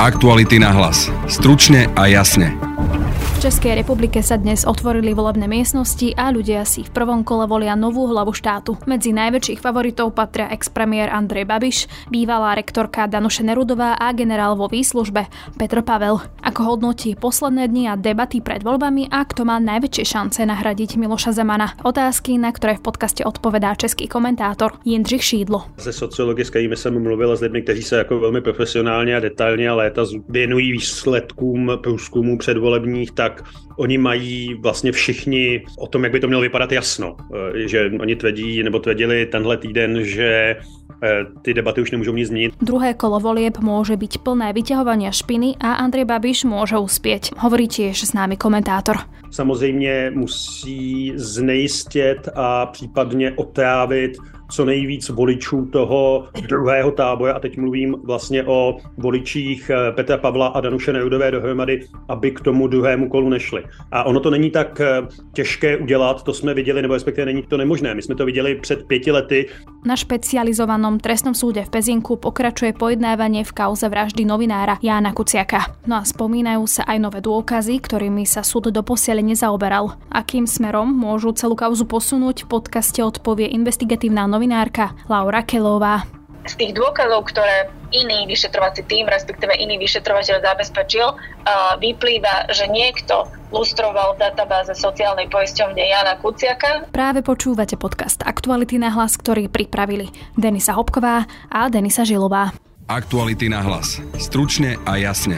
Aktuality na hlas. Stručne a jasne. V Českej republike sa dnes otvorili volebné miestnosti a ľudia si v prvom kole volia novú hlavu štátu. Medzi najväčších favoritov patria ex-premiér Andrej Babiš, bývalá rektorka Danuše Nerudová a generál vo výslužbe Petr Pavel. Ako hodnotí posledné dni a debaty pred voľbami a kto má najväčšie šance nahradiť Miloša Zemana? Otázky, na ktoré v podcaste odpovedá český komentátor Jindřich Šídlo. Ze sociology, s kterými jsem mluvil, s lidmi, kteří se jako velmi profesionálně a detailně a léta věnují výsledkům průzkumů předvolebních, tak oni mají vlastně všichni o tom, jak by to mělo vypadat jasno. Že oni tvrdili tenhle týden, že ty debaty už nemôžu nic změnit. Druhé kolo volieb môže byť plné vyťahovania špiny a Andrej Babiš môže uspieť, hovorí tiež známy komentátor. Samozřejmě musí znejistit a případně otrávit co nejvíc voličů toho druhého tábora, a teď mluvím vlastně o voličích Petra Pavla a Danuše Nerudové dohromady, aby k tomu druhému kolu nešli. A ono to není tak těžké udělat, to jsme viděli, nebo respektive není to nemožné. My jsme to viděli před 5 lety. Na špecializovanom trestnom súde v Pezinku pokračuje pojednávanie v kauze vraždy novinára Jána Kuciaka. No a spomínajú sa aj nové dôkazy, ktorými sa súd doposiaľ nezaoberal. Akým smerom môžu celú kauzu posunúť, v podcaste odpovie investigatívna novinárka Laura Kelová. Z tých dôkazov, ktoré iný vyšetrovací tím, respektíve iný vyšetrovateľ zabezpečil, vyplýva, že niekto lustroval v databáze sociálnej poisťovne Jána Kuciaka. Práve počúvate podcast Aktuality na hlas, ktorý pripravili Denisa Hopková a Denisa Žilová. Aktuality na hlas. Stručne a jasne.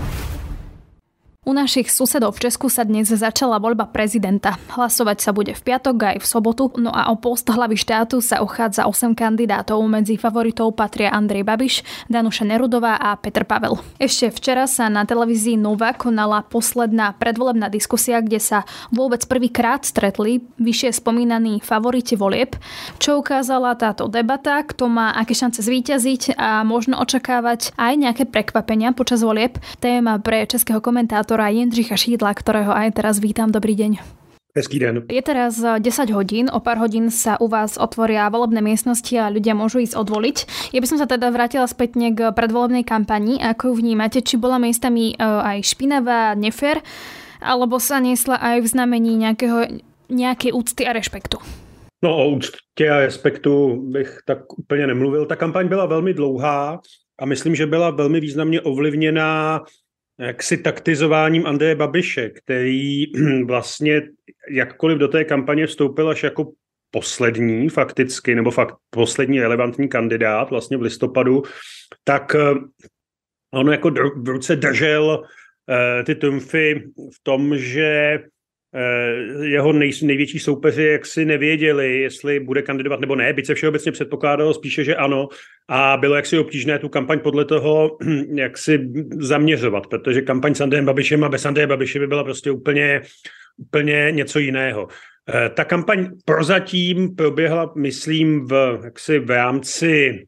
U našich susedov v Česku sa dnes začala voľba prezidenta. Hlasovať sa bude v piatok aj v sobotu, no a o post hlavy štátu sa uchádza 8 kandidátov. Medzi favoritov patria Andrej Babiš, Danuša Nerudová a Petr Pavel. Ešte včera sa na televízii Nova konala posledná predvolebná diskusia, kde sa vôbec prvýkrát stretli vyššie spomínaní favoriti volieb. Čo ukázala táto debata, kto má aké šance zvíťaziť a možno očakávať aj nejaké prekvapenia počas volieb. Téma pre českého komentátora Jindřicha Šídla, ktorého aj teraz vítam. Dobrý deň. Hezký den. Je teraz 10 hodín, o pár hodín sa u vás otvoria volebné miestnosti a ľudia môžu ísť odvoliť. Ja by som sa teda vrátila spätne k predvolebnej kampani. Ako ju vnímate? Či bola miestami aj špinavá, nefér, alebo sa niesla aj v znamení nejakej úcty a rešpektu? No o úctě a respektu bych tak úplně nemluvil. Ta kampaň byla velmi dlouhá a myslím, že byla velmi významně ovlivněná jaksi taktizováním Andreje Babiše, který vlastně jakkoliv do té kampaně vstoupil až jako poslední fakticky, nebo fakt poslední relevantní kandidát vlastně v listopadu, tak on jako v ruce držel ty trumfy v tom, že jeho největší soupeři jaksi nevěděli, jestli bude kandidovat nebo ne, byť se všeobecně předpokládalo spíše, že ano, a bylo jaksi obtížné tu kampaň podle toho jaksi zaměřovat, protože kampaň s Andrejem Babišem a bez Andreje Babiše by byla prostě úplně něco jiného. Ta kampaň prozatím proběhla, myslím, v rámci,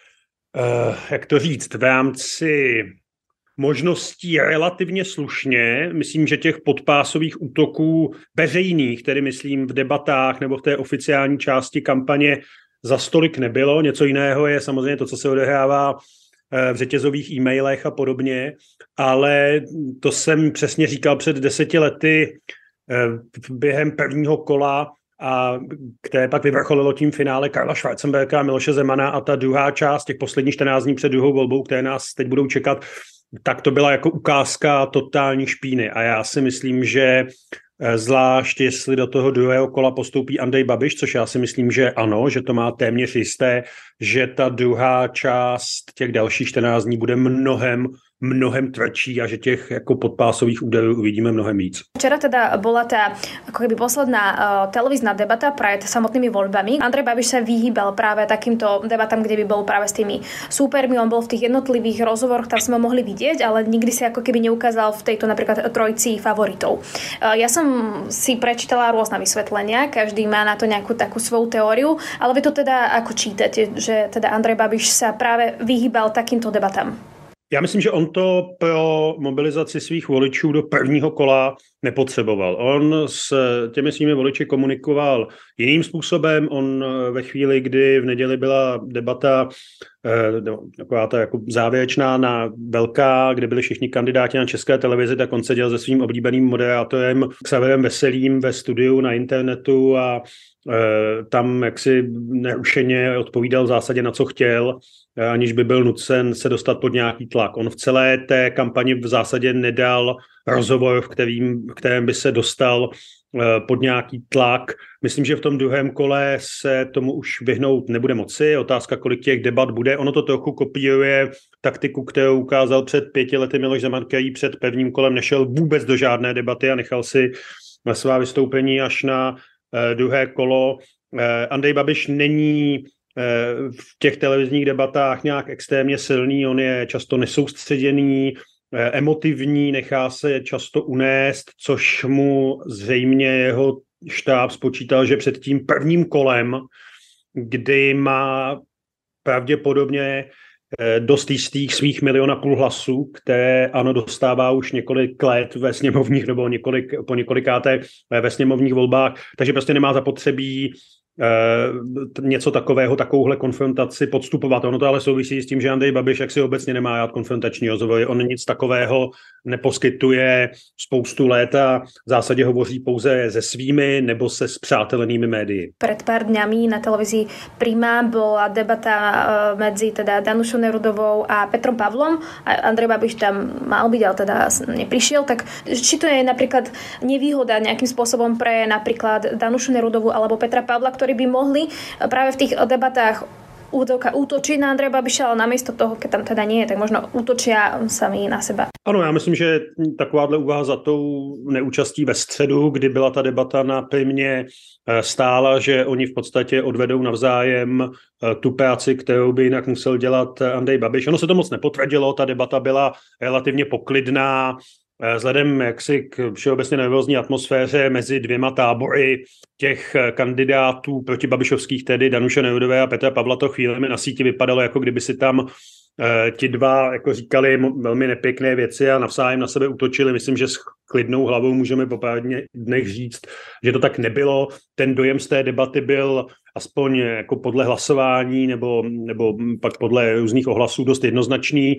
v rámci možností relativně slušně. Myslím, že těch podpásových útoků veřejných, tedy myslím v debatách nebo v té oficiální části kampaně za stolik nebylo. Něco jiného je samozřejmě to, co se odehrává v řetězových e-mailech a podobně, ale to jsem přesně říkal před 10 lety během prvního kola, a které pak vyvrcholilo tím finále Karla Schwarzenberga a Miloše Zemana, a ta druhá část těch posledních 14 dní před druhou volbou, které nás teď budou čekat, tak to byla jako ukázka totální špíny. A já si myslím, že zvlášť jestli do toho druhého kola postoupí Andrej Babiš, což já si myslím, že ano, že to má téměř jisté, že ta druhá část těch dalších 14 dní bude mnohem tvrdší a že těch jako podpásových úderů uvidíme mnohem víc. Včera teda bola tá ako keby posledná televízna debata pred samotnými voľbami. Andrej Babiš sa vyhýbal práve takýmto debatám, kde by bol práve s tými súpermi. On bol v tých jednotlivých rozhovoroch, tam sme ho mohli vidieť, ale nikdy sa ako keby neukázal v tejto napríklad trojci favoritov. Ja som si prečítala rôzne vysvetlenia, každý má na to nejakú takú svoju teóriu, ale vy to teda ako čítate, že teda Andrej Babiš sa práve vyhýbal takýmto debatám? Já myslím, že on to pro mobilizaci svých voličů do prvního kola nepotřeboval. On s těmi svými voliči komunikoval jiným způsobem. On ve chvíli, kdy v neděli byla debata taková ta jako závěrečná na velká, kde byli všichni kandidáti na České televizi, tak on seděl se svým oblíbeným moderátorem Xaverem Veselým ve studiu na internetu a tam jaksi nerušeně odpovídal v zásadě na co chtěl, aniž by byl nucen se dostat pod nějaký tlak. On v celé té kampani v zásadě nedal rozhovor, v kterém by se dostal pod nějaký tlak. Myslím, že v tom druhém kole se tomu už vyhnout nebude moci. Otázka, kolik těch debat bude. Ono to trochu kopíruje taktiku, kterou ukázal před 5 lety Miloš Zeman, který před prvním kolem nešel vůbec do žádné debaty a nechal si svá vystoupení až na druhé kolo. Andrej Babiš není v těch televizních debatách nějak extrémně silný, on je často nesoustředěný, emotivní, nechá se často unést, což mu zřejmě jeho štáb spočítal, že před tím prvním kolem, kdy má pravděpodobně dost jistých svých 1,5 milionu hlasů, které ANO dostává už několik let ve sněmovních nebo po několikáté ve sněmovních volbách, takže prostě nemá zapotřebí něco takového, takovouhle konfrontaci podstupovat. Ono to ale souvisí s tím, že Andrej Babiš jaksi obecně nemá rád konfrontační rozhovory. On nic takového neposkytuje spoustu let a v zásadě hovoří pouze se svými nebo se spřátelenými médii. Pred pár dňami na televízii Prima bola debata medzi teda Danušou Nerudovou a Petrom Pavlom a Andrej Babiš tam mal byť, ale teda neprišiel. Tak či to je napríklad nevýhoda nejakým spôsobom pre napríklad Danušu Nerudovú alebo Petra Pavla, ktorí by mohli práve v tých debatách útočiť na Andreja Babiša, ale namiesto toho, keď tam teda nie je, tak možno útočia sami na seba. Ano, já myslím, že takováhle úvaha za tou neúčastí ve středu, kdy byla ta debata na Primě, stála, že oni v podstatě odvedou navzájem tu práci, kterou by jinak musel dělat Andrej Babiš. Ono se to moc nepotvrdilo, ta debata byla relativně poklidná, vzhledem jaksi k všeobecně nervózní atmosféře mezi dvěma tábory těch kandidátů protibabišovských, tedy Danuše Nerudové a Petra Pavla, to chvílemi na síti vypadalo, jako kdyby si tam ti dva jako říkali velmi nepěkné věci a navzájem na sebe útočili. Myslím, že s klidnou hlavou můžeme po pár dnech říct, že to tak nebylo. Ten dojem z té debaty byl aspoň jako podle hlasování nebo pak podle různých ohlasů dost jednoznačný.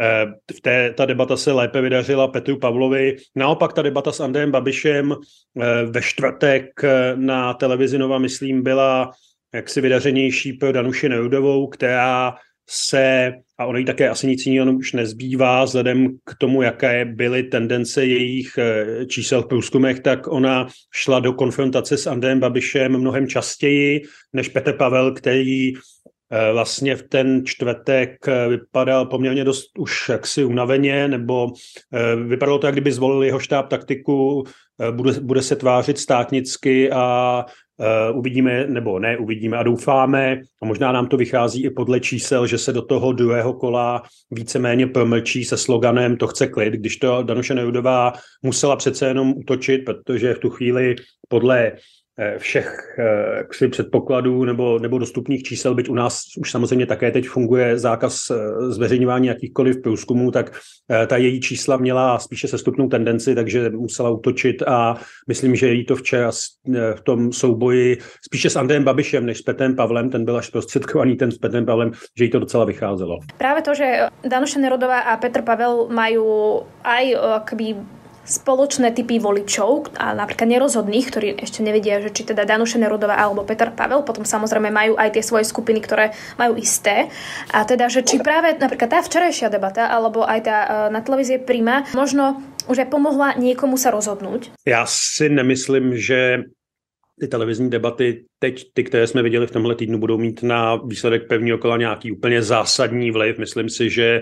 Ta debata se lépe vydařila Petru Pavlovi. Naopak ta debata s Andrejem Babišem ve čtvrtek na televizi Nova, myslím, byla jaksi vydařenější pro Danuši Nerudovou, která se, a ono jí také asi nic jiného už nezbývá, vzhledem k tomu, jaké byly tendence jejich čísel v průzkumech, tak ona šla do konfrontace s Andrejem Babišem mnohem častěji než Petr Pavel, který vlastně v ten čtvrtek vypadal poměrně dost už jaksi unaveně, nebo vypadalo to, jak kdyby zvolil jeho štáb taktiku, bude se tvářit státnicky a uvidíme, nebo ne uvidíme a doufáme, a možná nám to vychází i podle čísel, že se do toho druhého kola víceméně promlčí se sloganem to chce klid, když to Danuše Nerudová musela přece jenom útočit, protože v tu chvíli podle všech předpokladů nebo dostupných čísel, byť u nás už samozřejmě také teď funguje zákaz zveřejňování jakýchkoliv průzkumů, tak ta její čísla měla spíše sestupnou tendenci, takže musela útočit a myslím, že jí to včera v tom souboji spíše s Andrejem Babišem než s Petrem Pavlem, ten byl až prostředkovaný ten s Petrem Pavlem, že jí to docela vycházelo. Práve to, že Danuša Nerudová a Petr Pavel majú aj akoby spoločné typy voličov a napríklad nerozhodných, ktorí ešte nevedia, že či teda Danuša Nerudová alebo Petr Pavel, potom samozrejme majú aj tie svoje skupiny, ktoré majú isté. A teda, že či práve napríklad tá včerajšia debata alebo aj tá na televízie Prima možno už aj pomohla niekomu sa rozhodnúť? Já si nemyslím, že ty televizní debaty teď, ty, které jsme viděli v tomhle týdnu, budou mít na výsledek prvního kola nějaký úplně zásadní vliv. Myslím si, že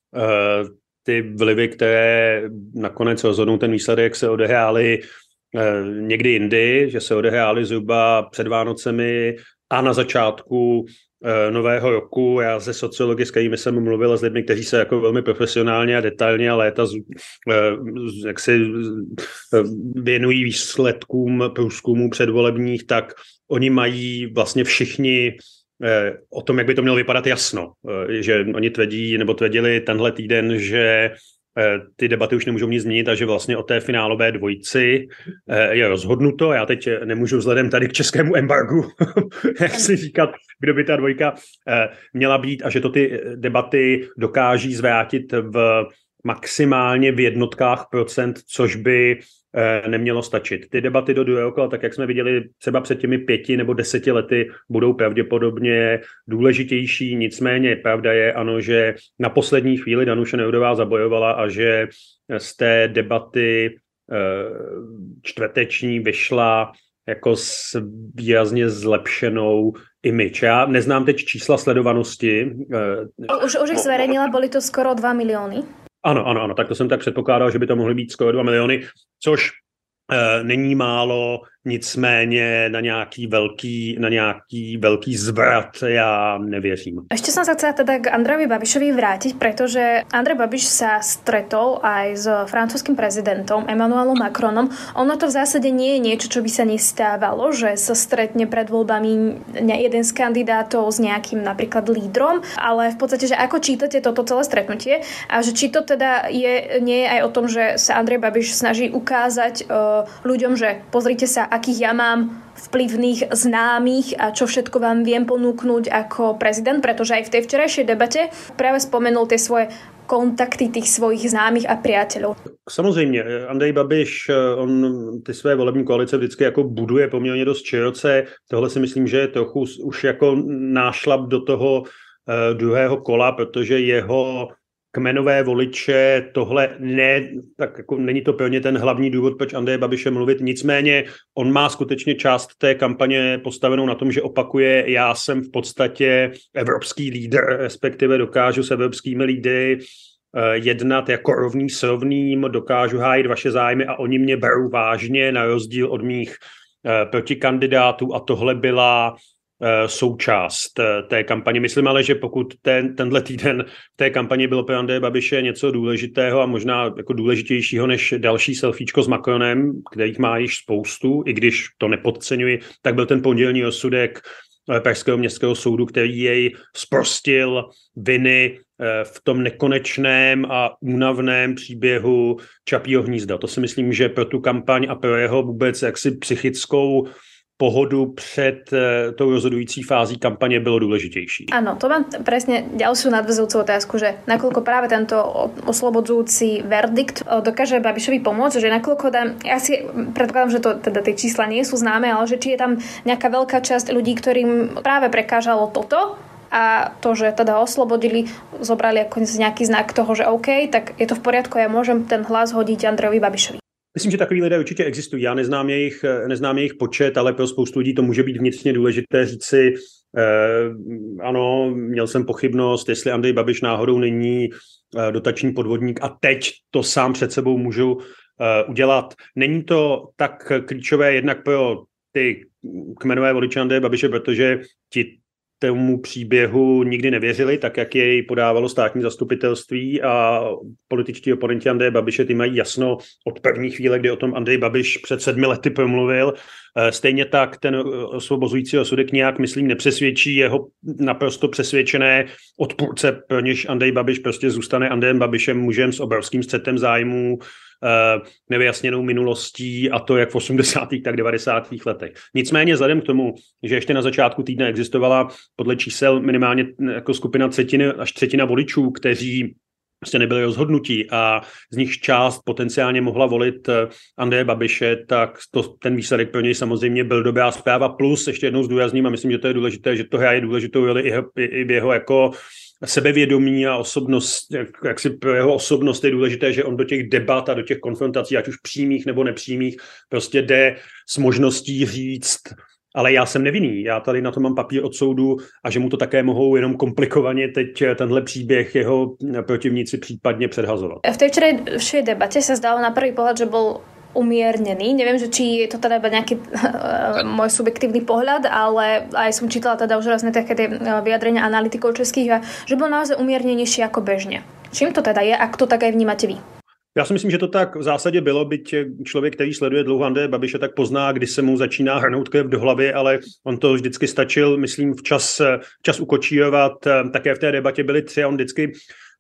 ty vlivy, které nakonec rozhodnou ten výsledek, se odehrály někdy jindy, že se odehrály zhruba před Vánocemi a na začátku nového roku. Já ze sociology, s kterými jsem mluvil, s lidmi, kteří se jako velmi profesionálně a detailně a léta jak si věnují výsledkům průzkumů předvolebních, tak oni mají vlastně všichni o tom, jak by to mělo vypadat jasno. Že oni tvrdili tenhle týden, že ty debaty už nemůžou nic změnit a že vlastně o té finálové dvojici je rozhodnuto. Já teď nemůžu vzhledem tady k českému embargu, jak si říkat, kdo by ta dvojka měla být a že to ty debaty dokáží zvrátit v maximálně v jednotkách procent, což by nemělo stačit. Ty debaty do druhého kola, tak jak jsme viděli třeba před těmi 5 nebo 10 lety, budou pravděpodobně důležitější. Nicméně pravda je, ano, že na poslední chvíli Danuše Nerudová zabojovala a že z té debaty čtvrteční vyšla jako s výrazně zlepšenou image. Já neznám teď čísla sledovanosti. Už ich zverejnila, boli to skoro 2 milióny. Ano, tak to jsem tak předpokládal, že by to mohly být skoro 2 miliony, což není málo, nicméně na nějaký velký zvrat ja nevěřím. Ešte som sa chcela teda k Andrejovi Babišovi vrátiť, pretože Andrej Babiš sa stretol aj s francúzskym prezidentom Emmanuelom Macronom. Ono to v zásade nie je niečo, čo by sa nestávalo, že sa stretne pred voľbami jeden z kandidátov s nejakým napríklad lídrom, ale v podstate, že ako čítate toto celé stretnutie a že či to teda nie je aj o tom, že sa Andrej Babiš snaží ukázať ľuďom, že pozrite sa, akých ja mám vplyvných známych a čo všetko vám viem ponúknuť ako prezident, pretože aj v tej včerajšej debate práve spomenul tie svoje kontakty tých svojich známých a priateľov. Samozřejmě, Andrej Babiš, on ty své volební koalice vždycky jako buduje poměrně dost široce. Tohle si myslím, že je trochu už jako nášlap do toho druhého kola, protože jeho kmenové voliče, tohle ne, tak jako není to pro ně ten hlavní důvod, proč Andreje Babiše mluvit. Nicméně on má skutečně část té kampaně postavenou na tom, že opakuje, já jsem v podstatě evropský lídr, respektive dokážu s evropskými lídry jednat jako rovný s rovným, dokážu hájit vaše zájmy a oni mě berou vážně na rozdíl od mých protikandidátů a tohle byla součást té kampaně. Myslím ale, že pokud tenhle týden v té kampani bylo pro Andreje Babiše něco důležitého a možná jako důležitějšího než další selfiečko s Macronem, kterých má již spoustu, i když to nepodceňuji, tak byl ten pondělní rozsudek Pražského městského soudu, který jej zprostil viny v tom nekonečném a únavném příběhu Čapího hnízda. To si myslím, že pro tu kampaň a pro jeho vůbec jaksi psychickou pohodu před tou rozhodující fází kampaně bylo důležitější. Áno, to mám presne ďalšiu nadväzujúcu otázku, že nakoľko práve tento oslobodzujúci verdikt dokáže Babišovi pomôcť, že nakoľko ja si predpokladám, že to teda tie čísla nie sú známe, ale že či je tam nejaká veľká časť ľudí, ktorým práve prekážalo toto a to, že teda oslobodili, zobrali ako nejaký znak toho, že OK, tak je to v poriadku, ja môžem ten hlas hodiť Andrejovi Babišovi. Myslím, že takový lidé určitě existují. Já neznám jejich počet, ale pro spoustu lidí to může být vnitřně důležité říci, ano, měl jsem pochybnost, jestli Andrej Babiš náhodou není dotační podvodník a teď to sám před sebou můžu udělat. Není to tak klíčové jednak pro ty kmenové voliče Andreje Babiše, protože ti tomu příběhu nikdy nevěřili, tak jak jej podávalo státní zastupitelství a političtí oponenti Andreje Babiše, ty mají jasno od první chvíle, kdy o tom Andrej Babiš před 7 lety promluvil. Stejně tak ten osvobozující rozsudek nějak, myslím, nepřesvědčí jeho naprosto přesvědčené odpůrce, pro něž Andrej Babiš prostě zůstane Andrejem Babišem, mužem s obrovským střetem zájmů, nevyjasněnou minulostí a to jak v 80. tak 90. letech. Nicméně vzhledem k tomu, že ještě na začátku týdne existovala podle čísel minimálně jako skupina třetina voličů, kteří prostě nebyli rozhodnutí a z nich část potenciálně mohla volit Andreje Babiše, tak ten výsledek pro něj samozřejmě byl dobrá zpráva. Plus ještě jednou zdůrazním a myslím, že to je důležité, že to hraje důležitou roli i v jeho jako sebevědomí a osobnost, jak si pro jeho osobnost je důležité, že on do těch debat a do těch konfrontací, ať už přímých nebo nepřímých, prostě jde s možností říct, ale já jsem nevinný, já tady na to mám papír od soudu a že mu to také mohou jenom komplikovaně teď tenhle příběh jeho protivníci případně předhazovat. V tej včerajšej debate sa zdalo na prvý pohľad, že bol umiernený. Neviem, že či je to teda iba nejaký môj subjektívny pohľad, ale aj som čítala teda už rázne také tie vyjadrenia analytikov českých a že bol naozaj umiernenejší ako bežne. Čím to teda je, ak to tak aj vnímate vy? Já si myslím, že to tak v zásadě bylo, byť člověk, který sleduje dlouho Andreje Babiše, tak pozná, kdy se mu začíná hrnout krev do hlavy, ale on to vždycky stačil, myslím, včas ukočírovat. Také v té debatě byli 3 a on vždycky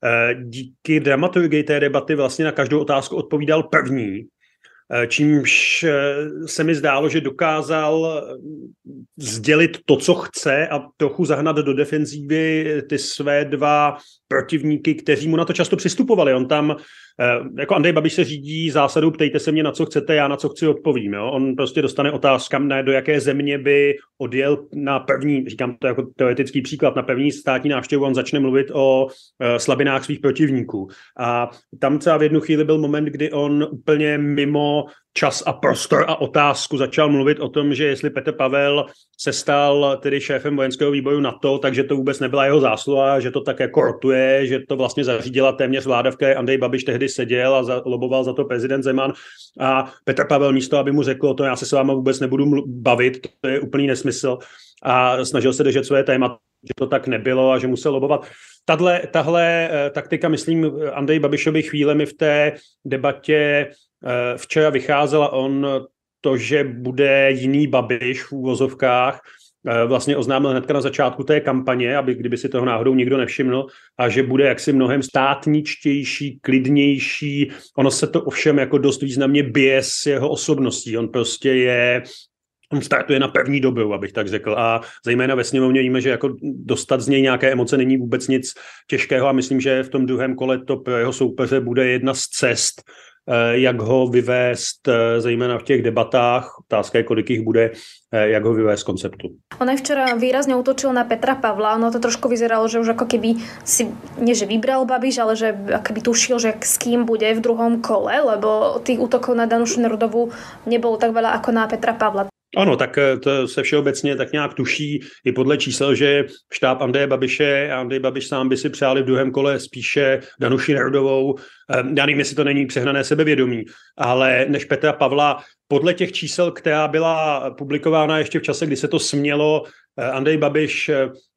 díky dramaturgii té debaty vlastně na každou otázku odpovídal první, čímž se mi zdálo, že dokázal sdělit to, co chce a trochu zahnat do defenzívy ty své dva protivníky, kteří mu na to často přistupovali. On tam, jako Andrej Babiš se řídí zásadou ptejte se mě, na co chcete, já na co chci odpovím. Jo? On prostě dostane otázku, do jaké země by odjel na první, říkám to jako teoretický příklad, na první státní návštěvu, on začne mluvit o slabinách svých protivníků. A tam třeba v jednu chvíli byl moment, kdy on úplně mimo čas a prostor a otázku začal mluvit o tom, že jestli Petr Pavel se stal tedy šéfem vojenského výboru NATO, takže to vůbec nebyla jeho zásluha, že to tak jako rotuje, že to vlastně zařídila téměř vláda, v které Andrej Babiš tehdy seděl a loboval za to prezident Zeman. A Petr Pavel místo, aby mu řekl o tom, já se s váma vůbec nebudu bavit, to je úplný nesmysl. A snažil se držet své téma, že to tak nebylo a že musel lobovat. Tahle taktika, myslím, Andrej Babišovi chvílemi v té debatě včera vycházela. On to, že bude jiný Babiš v úvozovkách, vlastně oznámil hnedka na začátku té kampaně, aby kdyby si toho náhodou nikdo nevšiml, a že bude jaksi mnohem státničtější, klidnější. Ono se to ovšem jako dost významně bije s jeho osobností. On startuje na první dobu, abych tak řekl. A zejména ve sněmovně víme, že jako dostat z něj nějaké emoce není vůbec nic těžkého a myslím, že v tom druhém kole to pro jeho soupeře bude jedna z cest, jak ho vyvést, zejména v těch debatách, otázka je, kolik jich bude, jak ho vyvést z konceptu. On aj včera výrazne útočil na Petra Pavla, ono to trošku vyzeralo, že už ako keby si, nie že vybral Babiš, ale že akoby tušil, že s kým bude v druhom kole, lebo tých útokov na Danušu Nerudovú nebolo tak veľa ako na Petra Pavla. Ano, tak to se všeobecně tak nějak tuší i podle čísel, že štáb Andreje Babiše a Andrej Babiš sám by si přáli v druhém kole spíše Danuši Nerudovou. Já nevím, jestli to není přehnané sebevědomí, ale než Petra Pavla. Podle těch čísel, která byla publikována ještě v čase, kdy se to smělo, Andrej Babiš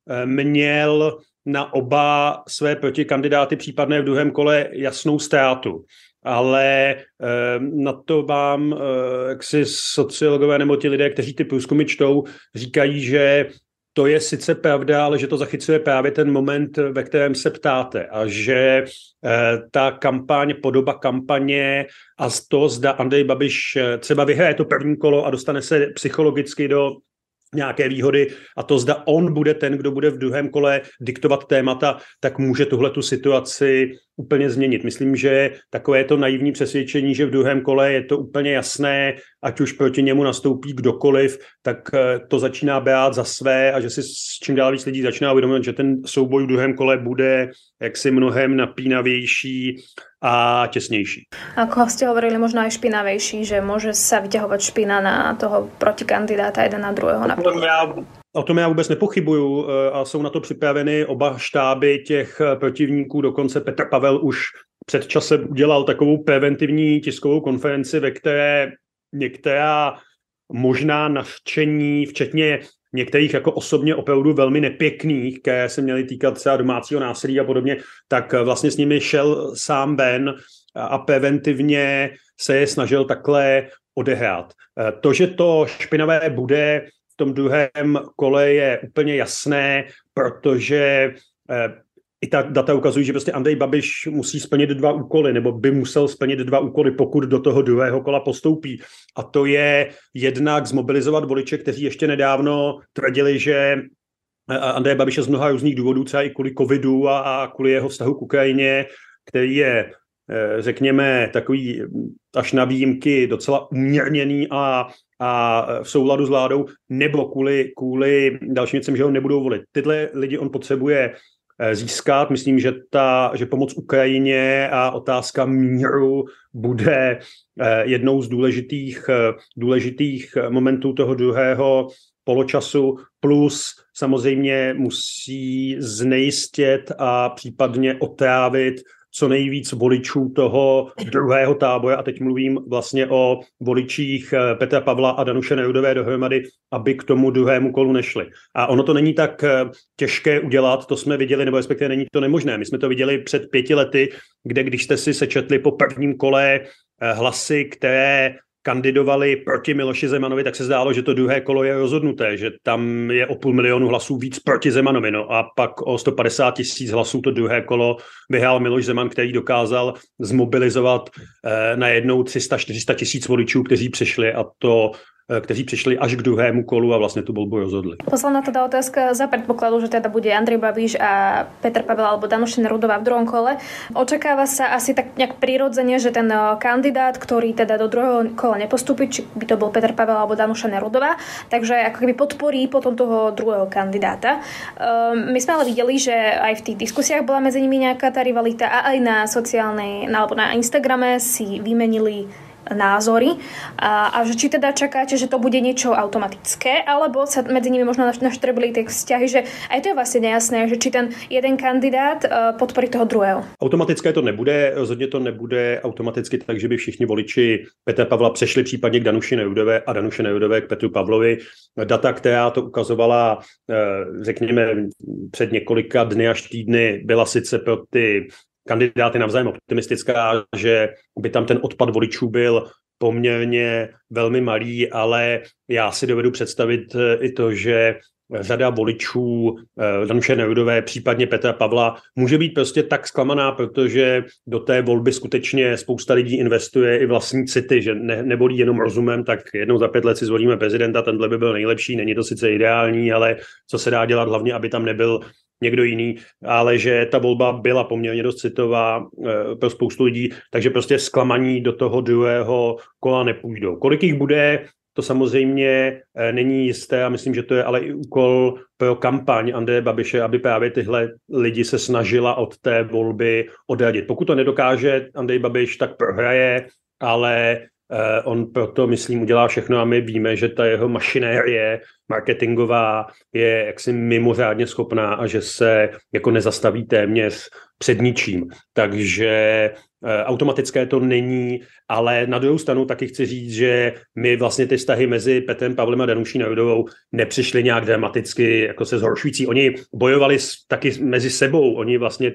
měl na oba své protikandidáty případné v druhém kole jasnou ztrátu. Ale na to vám jaksi sociologové nebo ti lidé, kteří ty průzkumy čtou, říkají, že to je sice pravda, ale že to zachycuje právě ten moment, ve kterém se ptáte a že ta kampaň, podoba kampaně a to, zda Andrej Babiš třeba vyhraje to první kolo a dostane se psychologicky do nějaké výhody a to, zda on bude ten, kdo bude v druhém kole diktovat témata, tak může tuhletu situaci úplně změnit. Myslím, že takové to naivní přesvědčení, že v druhém kole je to úplně jasné, ať už proti němu nastoupí kdokoliv, tak to začíná brát za své a že si s čím dál víc lidí začíná uvědomit, že ten souboj v druhém kole bude jaksi mnohem napínavější a těsnější. Ako ste hovorili, možno aj špinavejší, že môže sa vyťahovať špina na toho protikandidáta jeden na druhého. O tom já vůbec nepochybuju a jsou na to připraveny oba štáby těch protivníků. Dokonce Petr Pavel už před časem udělal takovou preventivní tiskovou konferenci, ve které některá možná nařčení, včetně některých jako osobně opravdu velmi nepěkných, které se měly týkat třeba domácího násilí a podobně, tak vlastně s nimi šel sám ven a preventivně se je snažil takhle odehrát. To, že to špinavé bude v tom druhém kole, je úplně jasné, protože i ta data ukazují, že prostě Andrej Babiš musí splnit 2 úkoly, nebo by musel splnit 2 úkoly, pokud do toho druhého kola postoupí. A to je jednak zmobilizovat voliče, kteří ještě nedávno tvrdili, že Andrej Babiš je z mnoha různých důvodů, třeba i kvůli covidu a kvůli jeho vztahu k Ukrajině, který je, řekněme, takový až na výjimky docela umírněný a v souladu s vládou, nebo kvůli dalším věcem, že ho nebudou volit. Tyhle lidi on potřebuje získat. Myslím, že pomoc Ukrajině a otázka míru bude jednou z důležitých momentů toho druhého poločasu, plus samozřejmě musí znejistit a případně otrávit co nejvíc voličů toho druhého tábora, a teď mluvím vlastně o voličích Petra Pavla a Danuše Nerudové dohromady, aby k tomu druhému kolu nešli. A ono to není tak těžké udělat, to jsme viděli, nebo respektive není to nemožné. My jsme to viděli před 5 lety, kde když jste si sečetli po prvním kole hlasy, které kandidovali proti Miloši Zemanovi, tak se zdálo, že to druhé kolo je rozhodnuté, že tam je o 500 000 hlasů víc proti Zemanovi. No a pak o 150 000 hlasů to druhé kolo vyhrál Miloš Zeman, který dokázal zmobilizovat najednou 300-400 000 voličů, kteří přišli až k druhému kolu a vlastne tú voľbu rozhodli. Posledná teda otázka za predpokladu, že teda bude Andrej Babiš a Petr Pavel alebo Danuša Nerudová v druhom kole. Očakáva sa asi tak nejak prirodzene, že ten kandidát, ktorý teda do druhého kola nepostúpi, či by to bol Petr Pavel alebo Danuša Nerudová, takže ako keby podporí potom toho druhého kandidáta. My sme ale videli, že aj v tých diskusiách bola medzi nimi nejaká tá rivalita a aj na sociálnej, alebo na Instagrame si vymenili názory a že či teda čakáte, že to bude niečo automatické, alebo sa medzi nimi možno naštrebili tie vzťahy, že aj to je vlastne nejasné, že či ten jeden kandidát podporí toho druhého. Automatické to nebude, rozhodně to nebude automaticky tak, že by všichni voliči Petra Pavla přešli případně k Danuši Nerudové a Danuše Nerudové k Petru Pavlovi. Data, která to ukazovala, řekněme, před několika dny až týdny, byla sice pro ty kandidáty navzájem optimistická, že by tam ten odpad voličů byl poměrně velmi malý, ale já si dovedu představit i to, že řada voličů Danuše Nerudové, případně Petra Pavla, může být prostě tak zklamaná, protože do té volby skutečně spousta lidí investuje i vlastní city, že nevolí jenom rozumem, tak jednou za 5 let si zvolíme prezidenta, tenhle by byl nejlepší, není to sice ideální, ale co se dá dělat hlavně, aby tam nebyl někdo jiný, ale že ta volba byla poměrně dost citová pro spoustu lidí, takže prostě zklamaní do toho druhého kola nepůjdou. Kolik jich bude, to samozřejmě není jisté a myslím, že to je ale i úkol pro kampaň Andreje Babiše, aby právě tyhle lidi se snažila od té volby odradit. Pokud to nedokáže Andrej Babiš, tak prohraje, ale on proto, myslím, udělá všechno a my víme, že ta jeho mašinérie marketingová je jaksi mimořádně schopná a že se jako nezastaví téměř před ničím. Takže automatické to není, ale na druhou stranu taky chci říct, že my vlastně ty vztahy mezi Petrem Pavlem a Danuší Nerudovou nepřišly nějak dramaticky jako se zhoršující. Oni bojovali taky mezi sebou, oni vlastně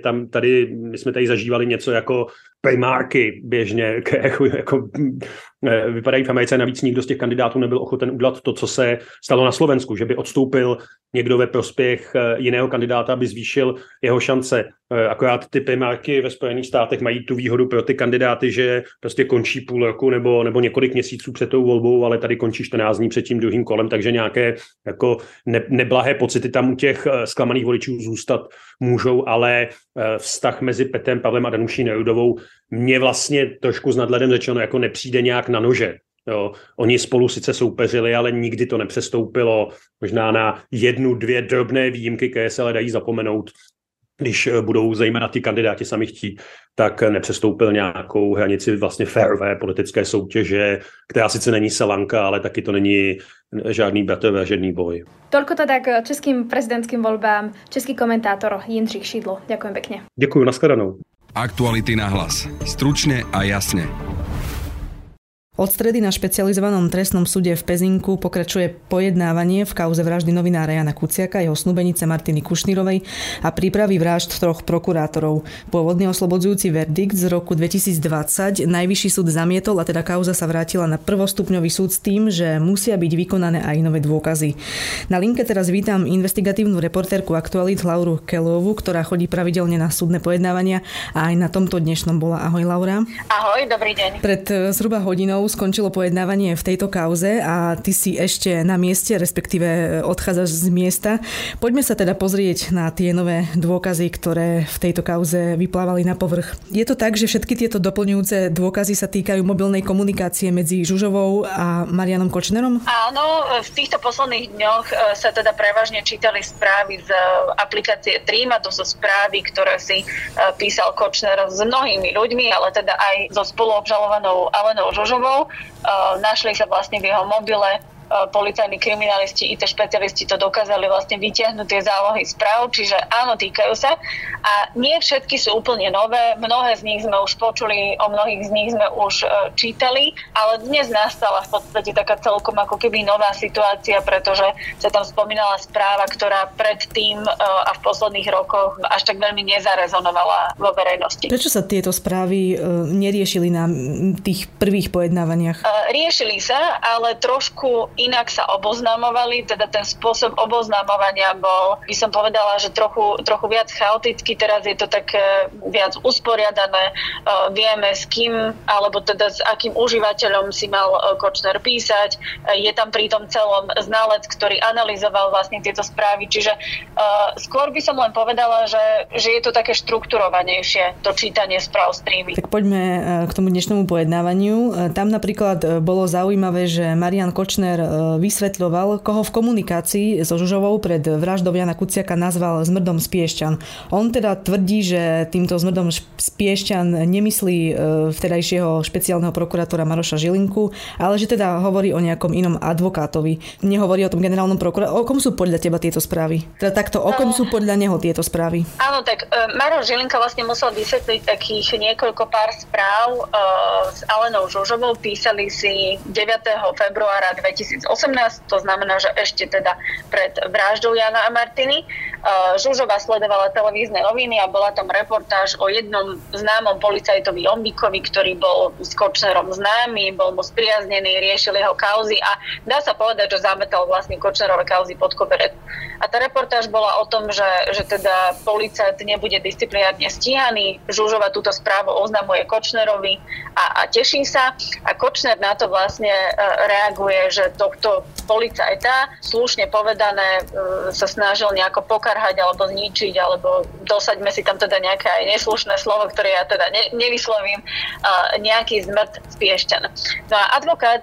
my jsme tady zažívali něco jako primárky běžně, jako vypadají v Americe, navíc nikdo z těch kandidátů nebyl ochoten udělat to, co se stalo na Slovensku, že by odstoupil někdo ve prospěch jiného kandidáta, aby zvýšil jeho šance. Akorát ty primárky ve Spojených státech mají tu výhodu pro ty kandidáty, že prostě končí půl roku nebo několik měsíců před tou volbou, ale tady končí 14 dní před tím druhým kolem, takže nějaké jako neblahé pocity tam u těch zklamaných voličů zůstat můžou, ale vztah mezi Petrem Pavlem a Danuší Nerudovou mně vlastně trošku s nadhledem řečeno jako nepřijde nějak na nože. Jo. Oni spolu sice soupeřili, ale nikdy to nepřestoupilo možná na 1-2 drobné výjimky, které se ale dají zapomenout, když budou zejména ty kandidáti sami chtít, tak nepřestoupil nějakou hranici vlastně férové politické soutěže, která sice není selanka, ale taky to není žádný bratovražedný boj. Toľko teda k českým prezidentským voľbám. Český komentátor Jindřich Šidlo. Ďakujem pekne. Ďakujem, nashledanou. Aktuality na hlas. Stručne a jasne. Od stredy na špecializovanom trestnom súde v Pezinku pokračuje pojednávanie v kauze vraždy novinára Jana Kuciaka, jeho snúbenice Martiny Kušnírovej a prípravy vražd 3 prokurátorov. Pôvodný oslobodzujúci verdikt z roku 2020 najvyšší súd zamietol a teda kauza sa vrátila na prvostupňový súd s tým, že musia byť vykonané aj nové dôkazy. Na linke teraz vítam investigatívnu reportérku Aktualít Lauru Kelovú, ktorá chodí pravidelne na súdne pojednávania a aj na tomto dnešnom bola. Ahoj, Laura. Ahoj, dobrý deň. Pred zhruba hodinou skončilo pojednávanie v tejto kauze a ty si ešte na mieste, respektíve odchádzaš z miesta. Poďme sa teda pozrieť na tie nové dôkazy, ktoré v tejto kauze vyplávali na povrch. Je to tak, že všetky tieto doplňujúce dôkazy sa týkajú mobilnej komunikácie medzi Žužovou a Marianom Kočnerom? Áno, v týchto posledných dňoch sa teda prevažne čítali správy z aplikácie Trím, a to sú správy, ktoré si písal Kočner s mnohými ľuďmi, ale teda aj so spoluobžalovanou Alenou Žužovou. Našli sa vlastne v jeho mobile policajní kriminalisti, IT špecialisti to dokázali vlastne vytiahnuť tie zálohy správ, čiže áno, týkajú sa. A nie všetky sú úplne nové, mnohé z nich sme už počuli, o mnohých z nich sme už čítali, ale dnes nastala v podstate taká celkom ako keby nová situácia, pretože sa tam spomínala správa, ktorá predtým a v posledných rokoch až tak veľmi nezarezonovala vo verejnosti. Prečo sa tieto správy neriešili na tých prvých pojednávaniach? Riešili sa, ale trošku inak sa oboznamovali, teda ten spôsob oboznamovania bol, by som povedala, že trochu viac chaoticky, teraz je to tak viac usporiadané, vieme s kým, alebo teda s akým užívateľom si mal Kočner písať, je tam pri tom celom znalec, ktorý analyzoval vlastne tieto správy, čiže skôr by som len povedala, že je to také štrukturovanejšie, to čítanie správ z Trívy. Tak poďme k tomu dnešnému pojednávaniu. Tam napríklad bolo zaujímavé, že Marian Kočner vysvetľoval, koho v komunikácii so Žužovou pred vraždou Jana Kuciaka nazval zmrdom z Piešťan. On teda tvrdí, že týmto zmrdom z Piešťan nemyslí vtedajšieho špeciálneho prokurátora Maroša Žilinku, ale že teda hovorí o nejakom inom advokátovi. Nehovorí o tom generálnom prokurátorovi. O kom sú podľa teba tieto správy? Teda takto, o kom sú podľa neho tieto správy? Áno, tak Maroš Žilinka vlastne musel vysvetliť takých niekoľko pár správ s Alenou Žužovou. Písali si 9. februára 2018, to znamená, že ešte teda pred vraždou Jana a Martiny. Žužová sledovala televízne noviny a bola tam reportáž o jednom známom policajtovi Jombíkovi, ktorý bol s Kočnerom známy, bol mu spriaznený, riešil jeho kauzy a dá sa povedať, že zametal vlastne Kočnerové kauzy pod koberec. A tá reportáž bola o tom, že teda policajt nebude disciplinárne stíhaný. Žužova túto správu oznamuje Kočnerovi a teší sa. A Kočner na to vlastne reaguje, že tohto policajta, slušne povedané, sa snažil nejako pokarhať alebo zničiť, alebo dosaďme si tam teda nejaké aj neslušné slovo, ktoré ja teda nevyslovím, nejaký zmrt z Piešťan. No a advokát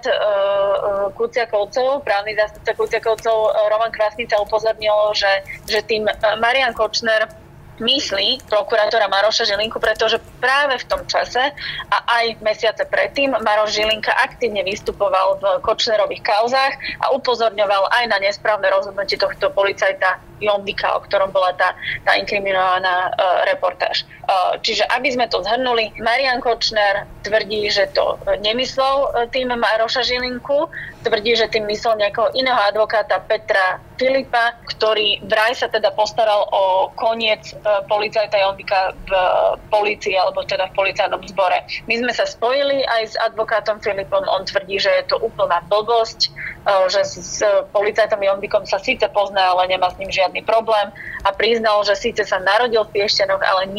Kuciakovcov, právny zástupca Kuciakovcov Roman Kvasnica upozornil, že tým Marian Kočner myslí prokurátora Maroša Žilinku, pretože práve v tom čase a aj mesiace predtým Maroš Žilinka aktívne vystupoval v Kočnerových kauzách a upozorňoval aj na nesprávne rozhodnutie tohto policajta Jombika, o ktorom bola tá inkriminovaná reportáž. Čiže aby sme to zhrnuli, Marian Kočner tvrdí, že to nemyslel tým Maroša Žilinku, tvrdí, že tým myslel nejakého iného advokáta Petra Filipa, ktorý vraj sa teda postaral o koniec policajta Jombika v polícii, alebo teda v policajnom zbore. My sme sa spojili aj s advokátom Filipom, on tvrdí, že je to úplná blbosť, že s policajtom Jombikom sa síce pozná, ale nemá s ním žiadny problém a priznal, že síce sa narodil v Piešťanoch, ale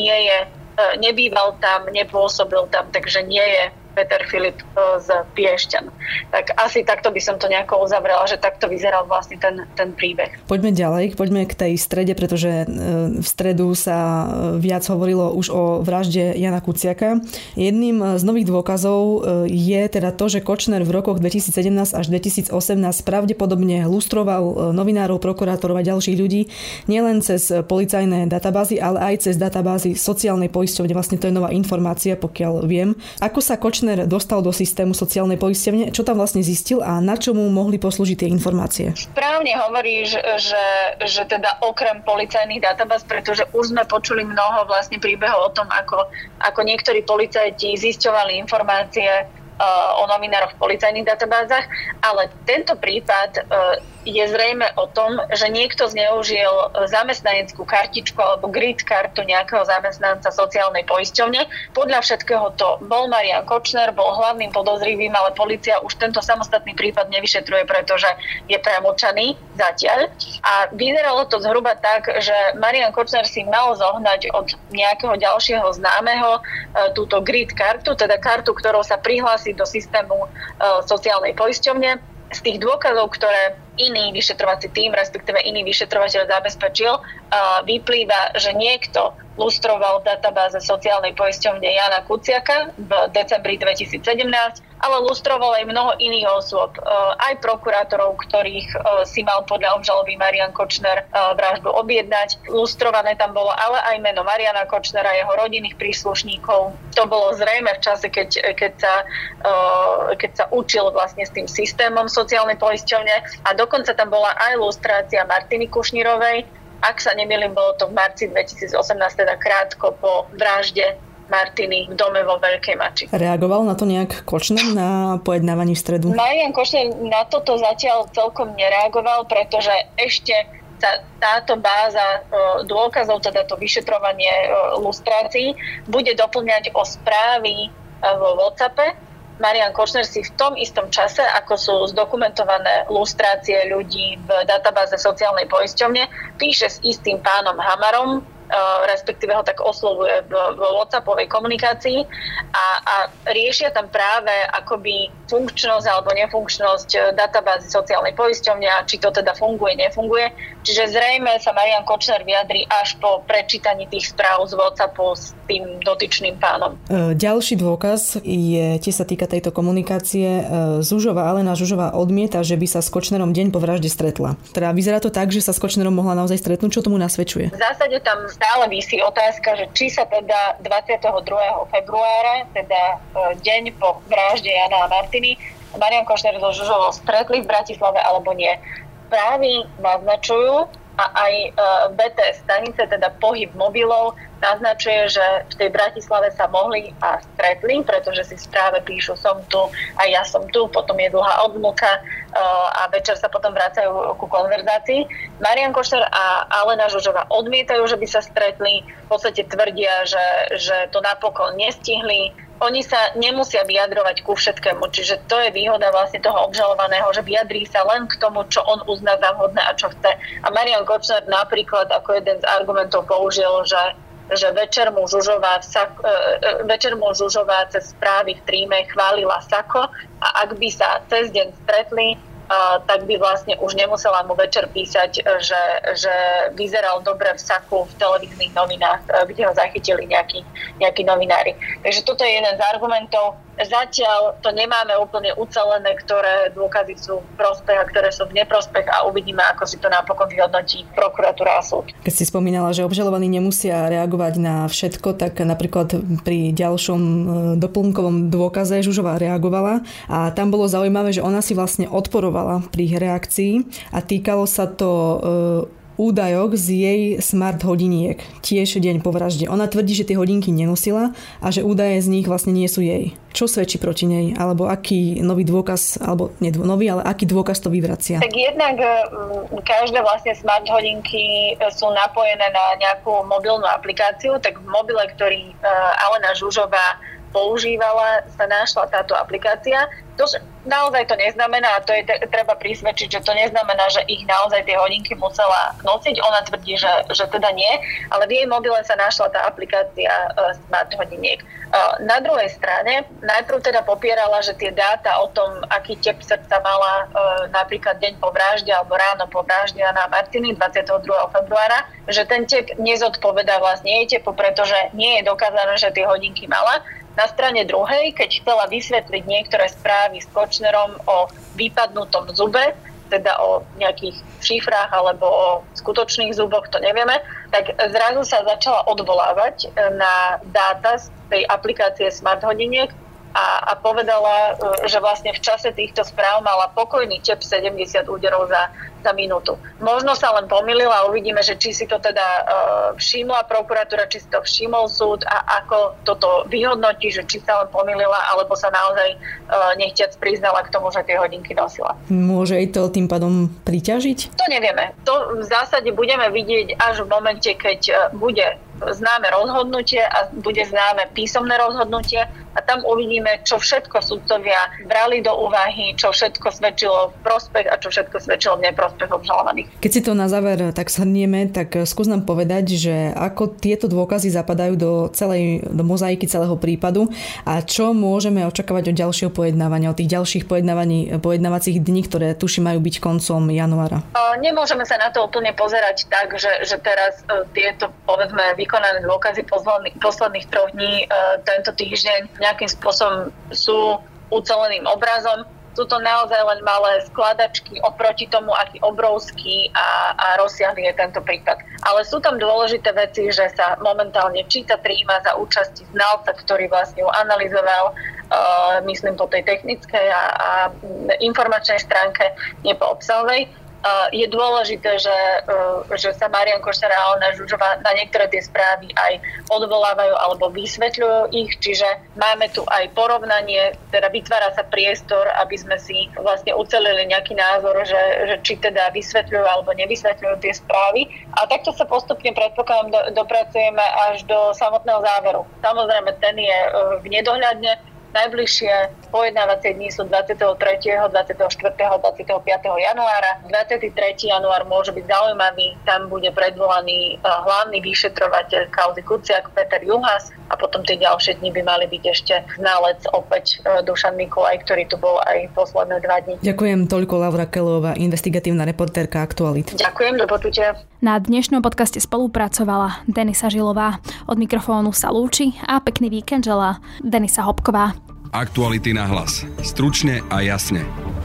nebýval tam, nepôsobil tam, takže nie je Peter Filip z Piešťan. Tak asi takto by som to nejako uzavrela, že takto vyzeral vlastne ten príbeh. Poďme ďalej, poďme k tej strede, pretože v stredu sa viac hovorilo už o vražde Jana Kuciaka. Jedným z nových dôkazov je teda to, že Kočner v rokoch 2017 až 2018 pravdepodobne lustroval novinárov, prokurátorov a ďalších ľudí nielen cez policajné databázy, ale aj cez databázy sociálnej poisťovne. Vlastne to je nová informácia, pokiaľ viem. Ako sa Kočner dostal do systému sociálnej poisťovne, čo tam vlastne zistil a na čo mu mohli poslúžiť tie informácie? Správne hovoríš, že teda okrem policajných databáz, pretože už sme počuli mnoho vlastne príbehov o tom, ako niektorí policajti zisťovali informácie o novinároch v policajných databázach, ale tento prípad je zrejme o tom, že niekto zneužil zamestnaneckú kartičku alebo grid kartu nejakého zamestnanca sociálnej poisťovne. Podľa všetkého to bol Marian Kočner, bol hlavným podozrivým, ale polícia už tento samostatný prípad nevyšetruje, pretože je premočaný zatiaľ. A vyzeralo to zhruba tak, že Marian Kočner si mal zohnať od nejakého ďalšieho známeho túto grid kartu, teda kartu, ktorou sa prihlási do systému sociálnej poisťovne. Z tých dôkazov, ktoré iný vyšetrovací tím, respektíve iný vyšetrovateľ zabezpečil, vyplýva, že niekto lustroval v databáze sociálnej poisťovne Jana Kuciaka v decembri 2017 ale lustroval aj mnoho iných osôb, aj prokurátorov, ktorých si mal podľa obžaloby Marian Kočner vraždu objednať. Lustrované tam bolo ale aj meno Mariana Kočnera, jeho rodinných príslušníkov. To bolo zrejme v čase, keď sa učil vlastne s tým systémom sociálnej poisťovne, a dokonca tam bola aj lustrácia Martiny Kušnírovej. Ak sa nemýlim, bolo to v marci 2018, teda krátko po vražde Martiny v dome vo Veľkej Mači. Reagoval na to nejak Kočner na pojednávaní v stredu? Marian Kočner na toto zatiaľ celkom nereagoval, pretože ešte sa táto báza dôkazov, teda to vyšetrovanie lustrácií, bude doplňať o správy vo WhatsAppe. Marian Kočner si v tom istom čase, ako sú zdokumentované lustrácie ľudí v databáze sociálnej poisťovne, píše s istým pánom Hamarom, respektíve ho tak oslovuje v WhatsAppovej komunikácii a riešia tam práve akoby funkčnosť alebo nefunkčnosť databázy sociálnej poisťovne a či to teda funguje, nefunguje. Čiže zrejme sa Marian Kočner vyjadrí až po prečítaní tých správ z WhatsAppu s tým dotyčným pánom. Ďalší dôkaz tiež sa týka tejto komunikácie. Alena Žužová odmieta, že by sa s Kočnerom deň po vražde stretla. Teda vyzerá to tak, že sa s Kočnerom mohla naozaj stretnúť. Čo tomu nasvedčuje? V zásade tam stále visí otázka, že či sa teda 22. februára, teda deň po vražde Jana a Martiny, Marian Kočner so Žužovou stretli v Bratislave alebo nie. Správy naznačujú a aj BTS stanice, teda pohyb mobilov, naznačuje, že v tej Bratislave sa mohli a stretli, pretože si v správe píšu som tu a ja som tu, potom je dlhá odmlka a večer sa potom vracajú ku konverzácii. Marian Kočner a Alena Žužová odmietajú, že by sa stretli, v podstate tvrdia, že to napokon nestihli. Oni sa nemusia vyjadrovať ku všetkému, čiže to je výhoda vlastne toho obžalovaného, že vyjadrí sa len k tomu, čo on uzná za vhodné a čo chce. A Marian Kočner napríklad ako jeden z argumentov použil, že večer mu Žužová cez správy v Tríme chválila Sako a ak by sa cez deň stretli, tak by vlastne už nemusela mu večer písať, že vyzeral dobre v Saku v televíznych novinách, kde ho zachytili nejakí novinári. Takže toto je jeden z argumentov. Zatiaľ to nemáme úplne ucelené, ktoré dôkazy sú v prospech a ktoré sú v neprospech a uvidíme, ako si to napokon vyhodnotí prokuratúra a súd. Keď si spomínala, že obžalovaní nemusia reagovať na všetko, tak napríklad pri ďalšom doplnkovom dôkaze Žužová reagovala a tam bolo zaujímavé, že ona si vlastne odporovala pri reakcii a týkalo sa to údajok z jej smart hodiniek, tiež deň po vražde. Ona tvrdí, že tie hodinky nenosila a že údaje z nich vlastne nie sú jej. Čo svedčí proti nej? Alebo aký nový dôkaz, alebo nie nový, ale aký dôkaz to vyvracia? Tak jednak každé vlastne smart hodinky sú napojené na nejakú mobilnú aplikáciu, tak v mobile, ktorý Alena Žužová používala, sa našla táto aplikácia. Naozaj to neznamená, a to je treba prisvedčiť, že to neznamená, že ich naozaj tie hodinky musela nosiť. Ona tvrdí, že teda nie, ale v jej mobile sa našla tá aplikácia smart hodiniek. Na druhej strane, najprv teda popierala, že tie dáta o tom, aký tep srdca mala napríklad deň po vražde alebo ráno po vražde Jana Martiny 22. februára, že ten tep nezodpovedá vlastne jej tepu, pretože nie je dokázané, že tie hodinky mala. Na strane druhej, keď chcela vysvetliť niektoré správy s Kočnerom o vypadnutom zube, teda o nejakých šifrách alebo o skutočných zuboch, to nevieme, tak zrazu sa začala odvolávať na dáta z tej aplikácie smart hodiniek a povedala, že vlastne v čase týchto správ mala pokojný tep 70 úderov za minútu. Možno sa len pomýlila a uvidíme, že či si to teda všimla prokuratúra, či si to všimol súd a ako toto vyhodnotí, že či sa len pomýlila, alebo sa naozaj nechtiac priznala k tomu, že tie hodinky nosila. Môže jej to tým pádom priťažiť? To nevieme. To v zásade budeme vidieť až v momente, keď bude známe rozhodnutie a bude známe písomné rozhodnutie a tam uvidíme, čo všetko sudcovia brali do úvahy, čo všetko svedčilo v prospech a čo všetko svedčilo v neprospech obžalovaných. Keď si to na záver tak shrnieme, tak skús nám povedať, že ako tieto dôkazy zapadajú do mozaiky celého prípadu a čo môžeme očakávať od ďalšieho pojednávania, od tých ďalších pojednávacích dní, ktoré tuším majú byť koncom januára. Nemôžeme sa na to úplne pozerať tak, že teraz tieto povedzme vykonané dôkazy posledných 3 dní tento týždeň nejakým spôsobom sú uceleným obrazom. Sú to naozaj len malé skladačky oproti tomu, aký obrovský a rozsiahly je tento prípad. Ale sú tam dôležité veci, že sa momentálne číta, prijíma za účasti znalca, ktorý vlastne ju analyzoval, myslím po tej technickej a informačnej stránke, nie po obsahovej. Je dôležité, že sa Marian Košťar a Alena Žužová na niektoré tie správy aj odvolávajú alebo vysvetľujú ich, čiže máme tu aj porovnanie, teda vytvára sa priestor, aby sme si vlastne ucelili nejaký názor, že či teda vysvetľujú alebo nevysvetľujú tie správy. A takto sa postupne, predpokladám, dopracujeme až do samotného záveru. Samozrejme, ten je v nedohľadne. Najbližšie pojednávacie dni sú 23., 24., 25. januára. 23. január môže byť zaujímavý, tam bude predvolaný hlavný vyšetrovateľ kauzy Kuciak Peter Juhas a potom tie ďalšie dni by mali byť ešte znalec opäť Dušan Mikulaj, ktorý tu bol aj posledné 2 dni. Ďakujem toľko Laura Kelová, investigatívna reportérka Aktualit. Ďakujem, do počutia. Na dnešnom podcaste spolupracovala Denisa Žilová. Od mikrofónu sa lúči a pekný víkend želá Denisa Hopková. Aktuality na hlas. Stručne a jasne.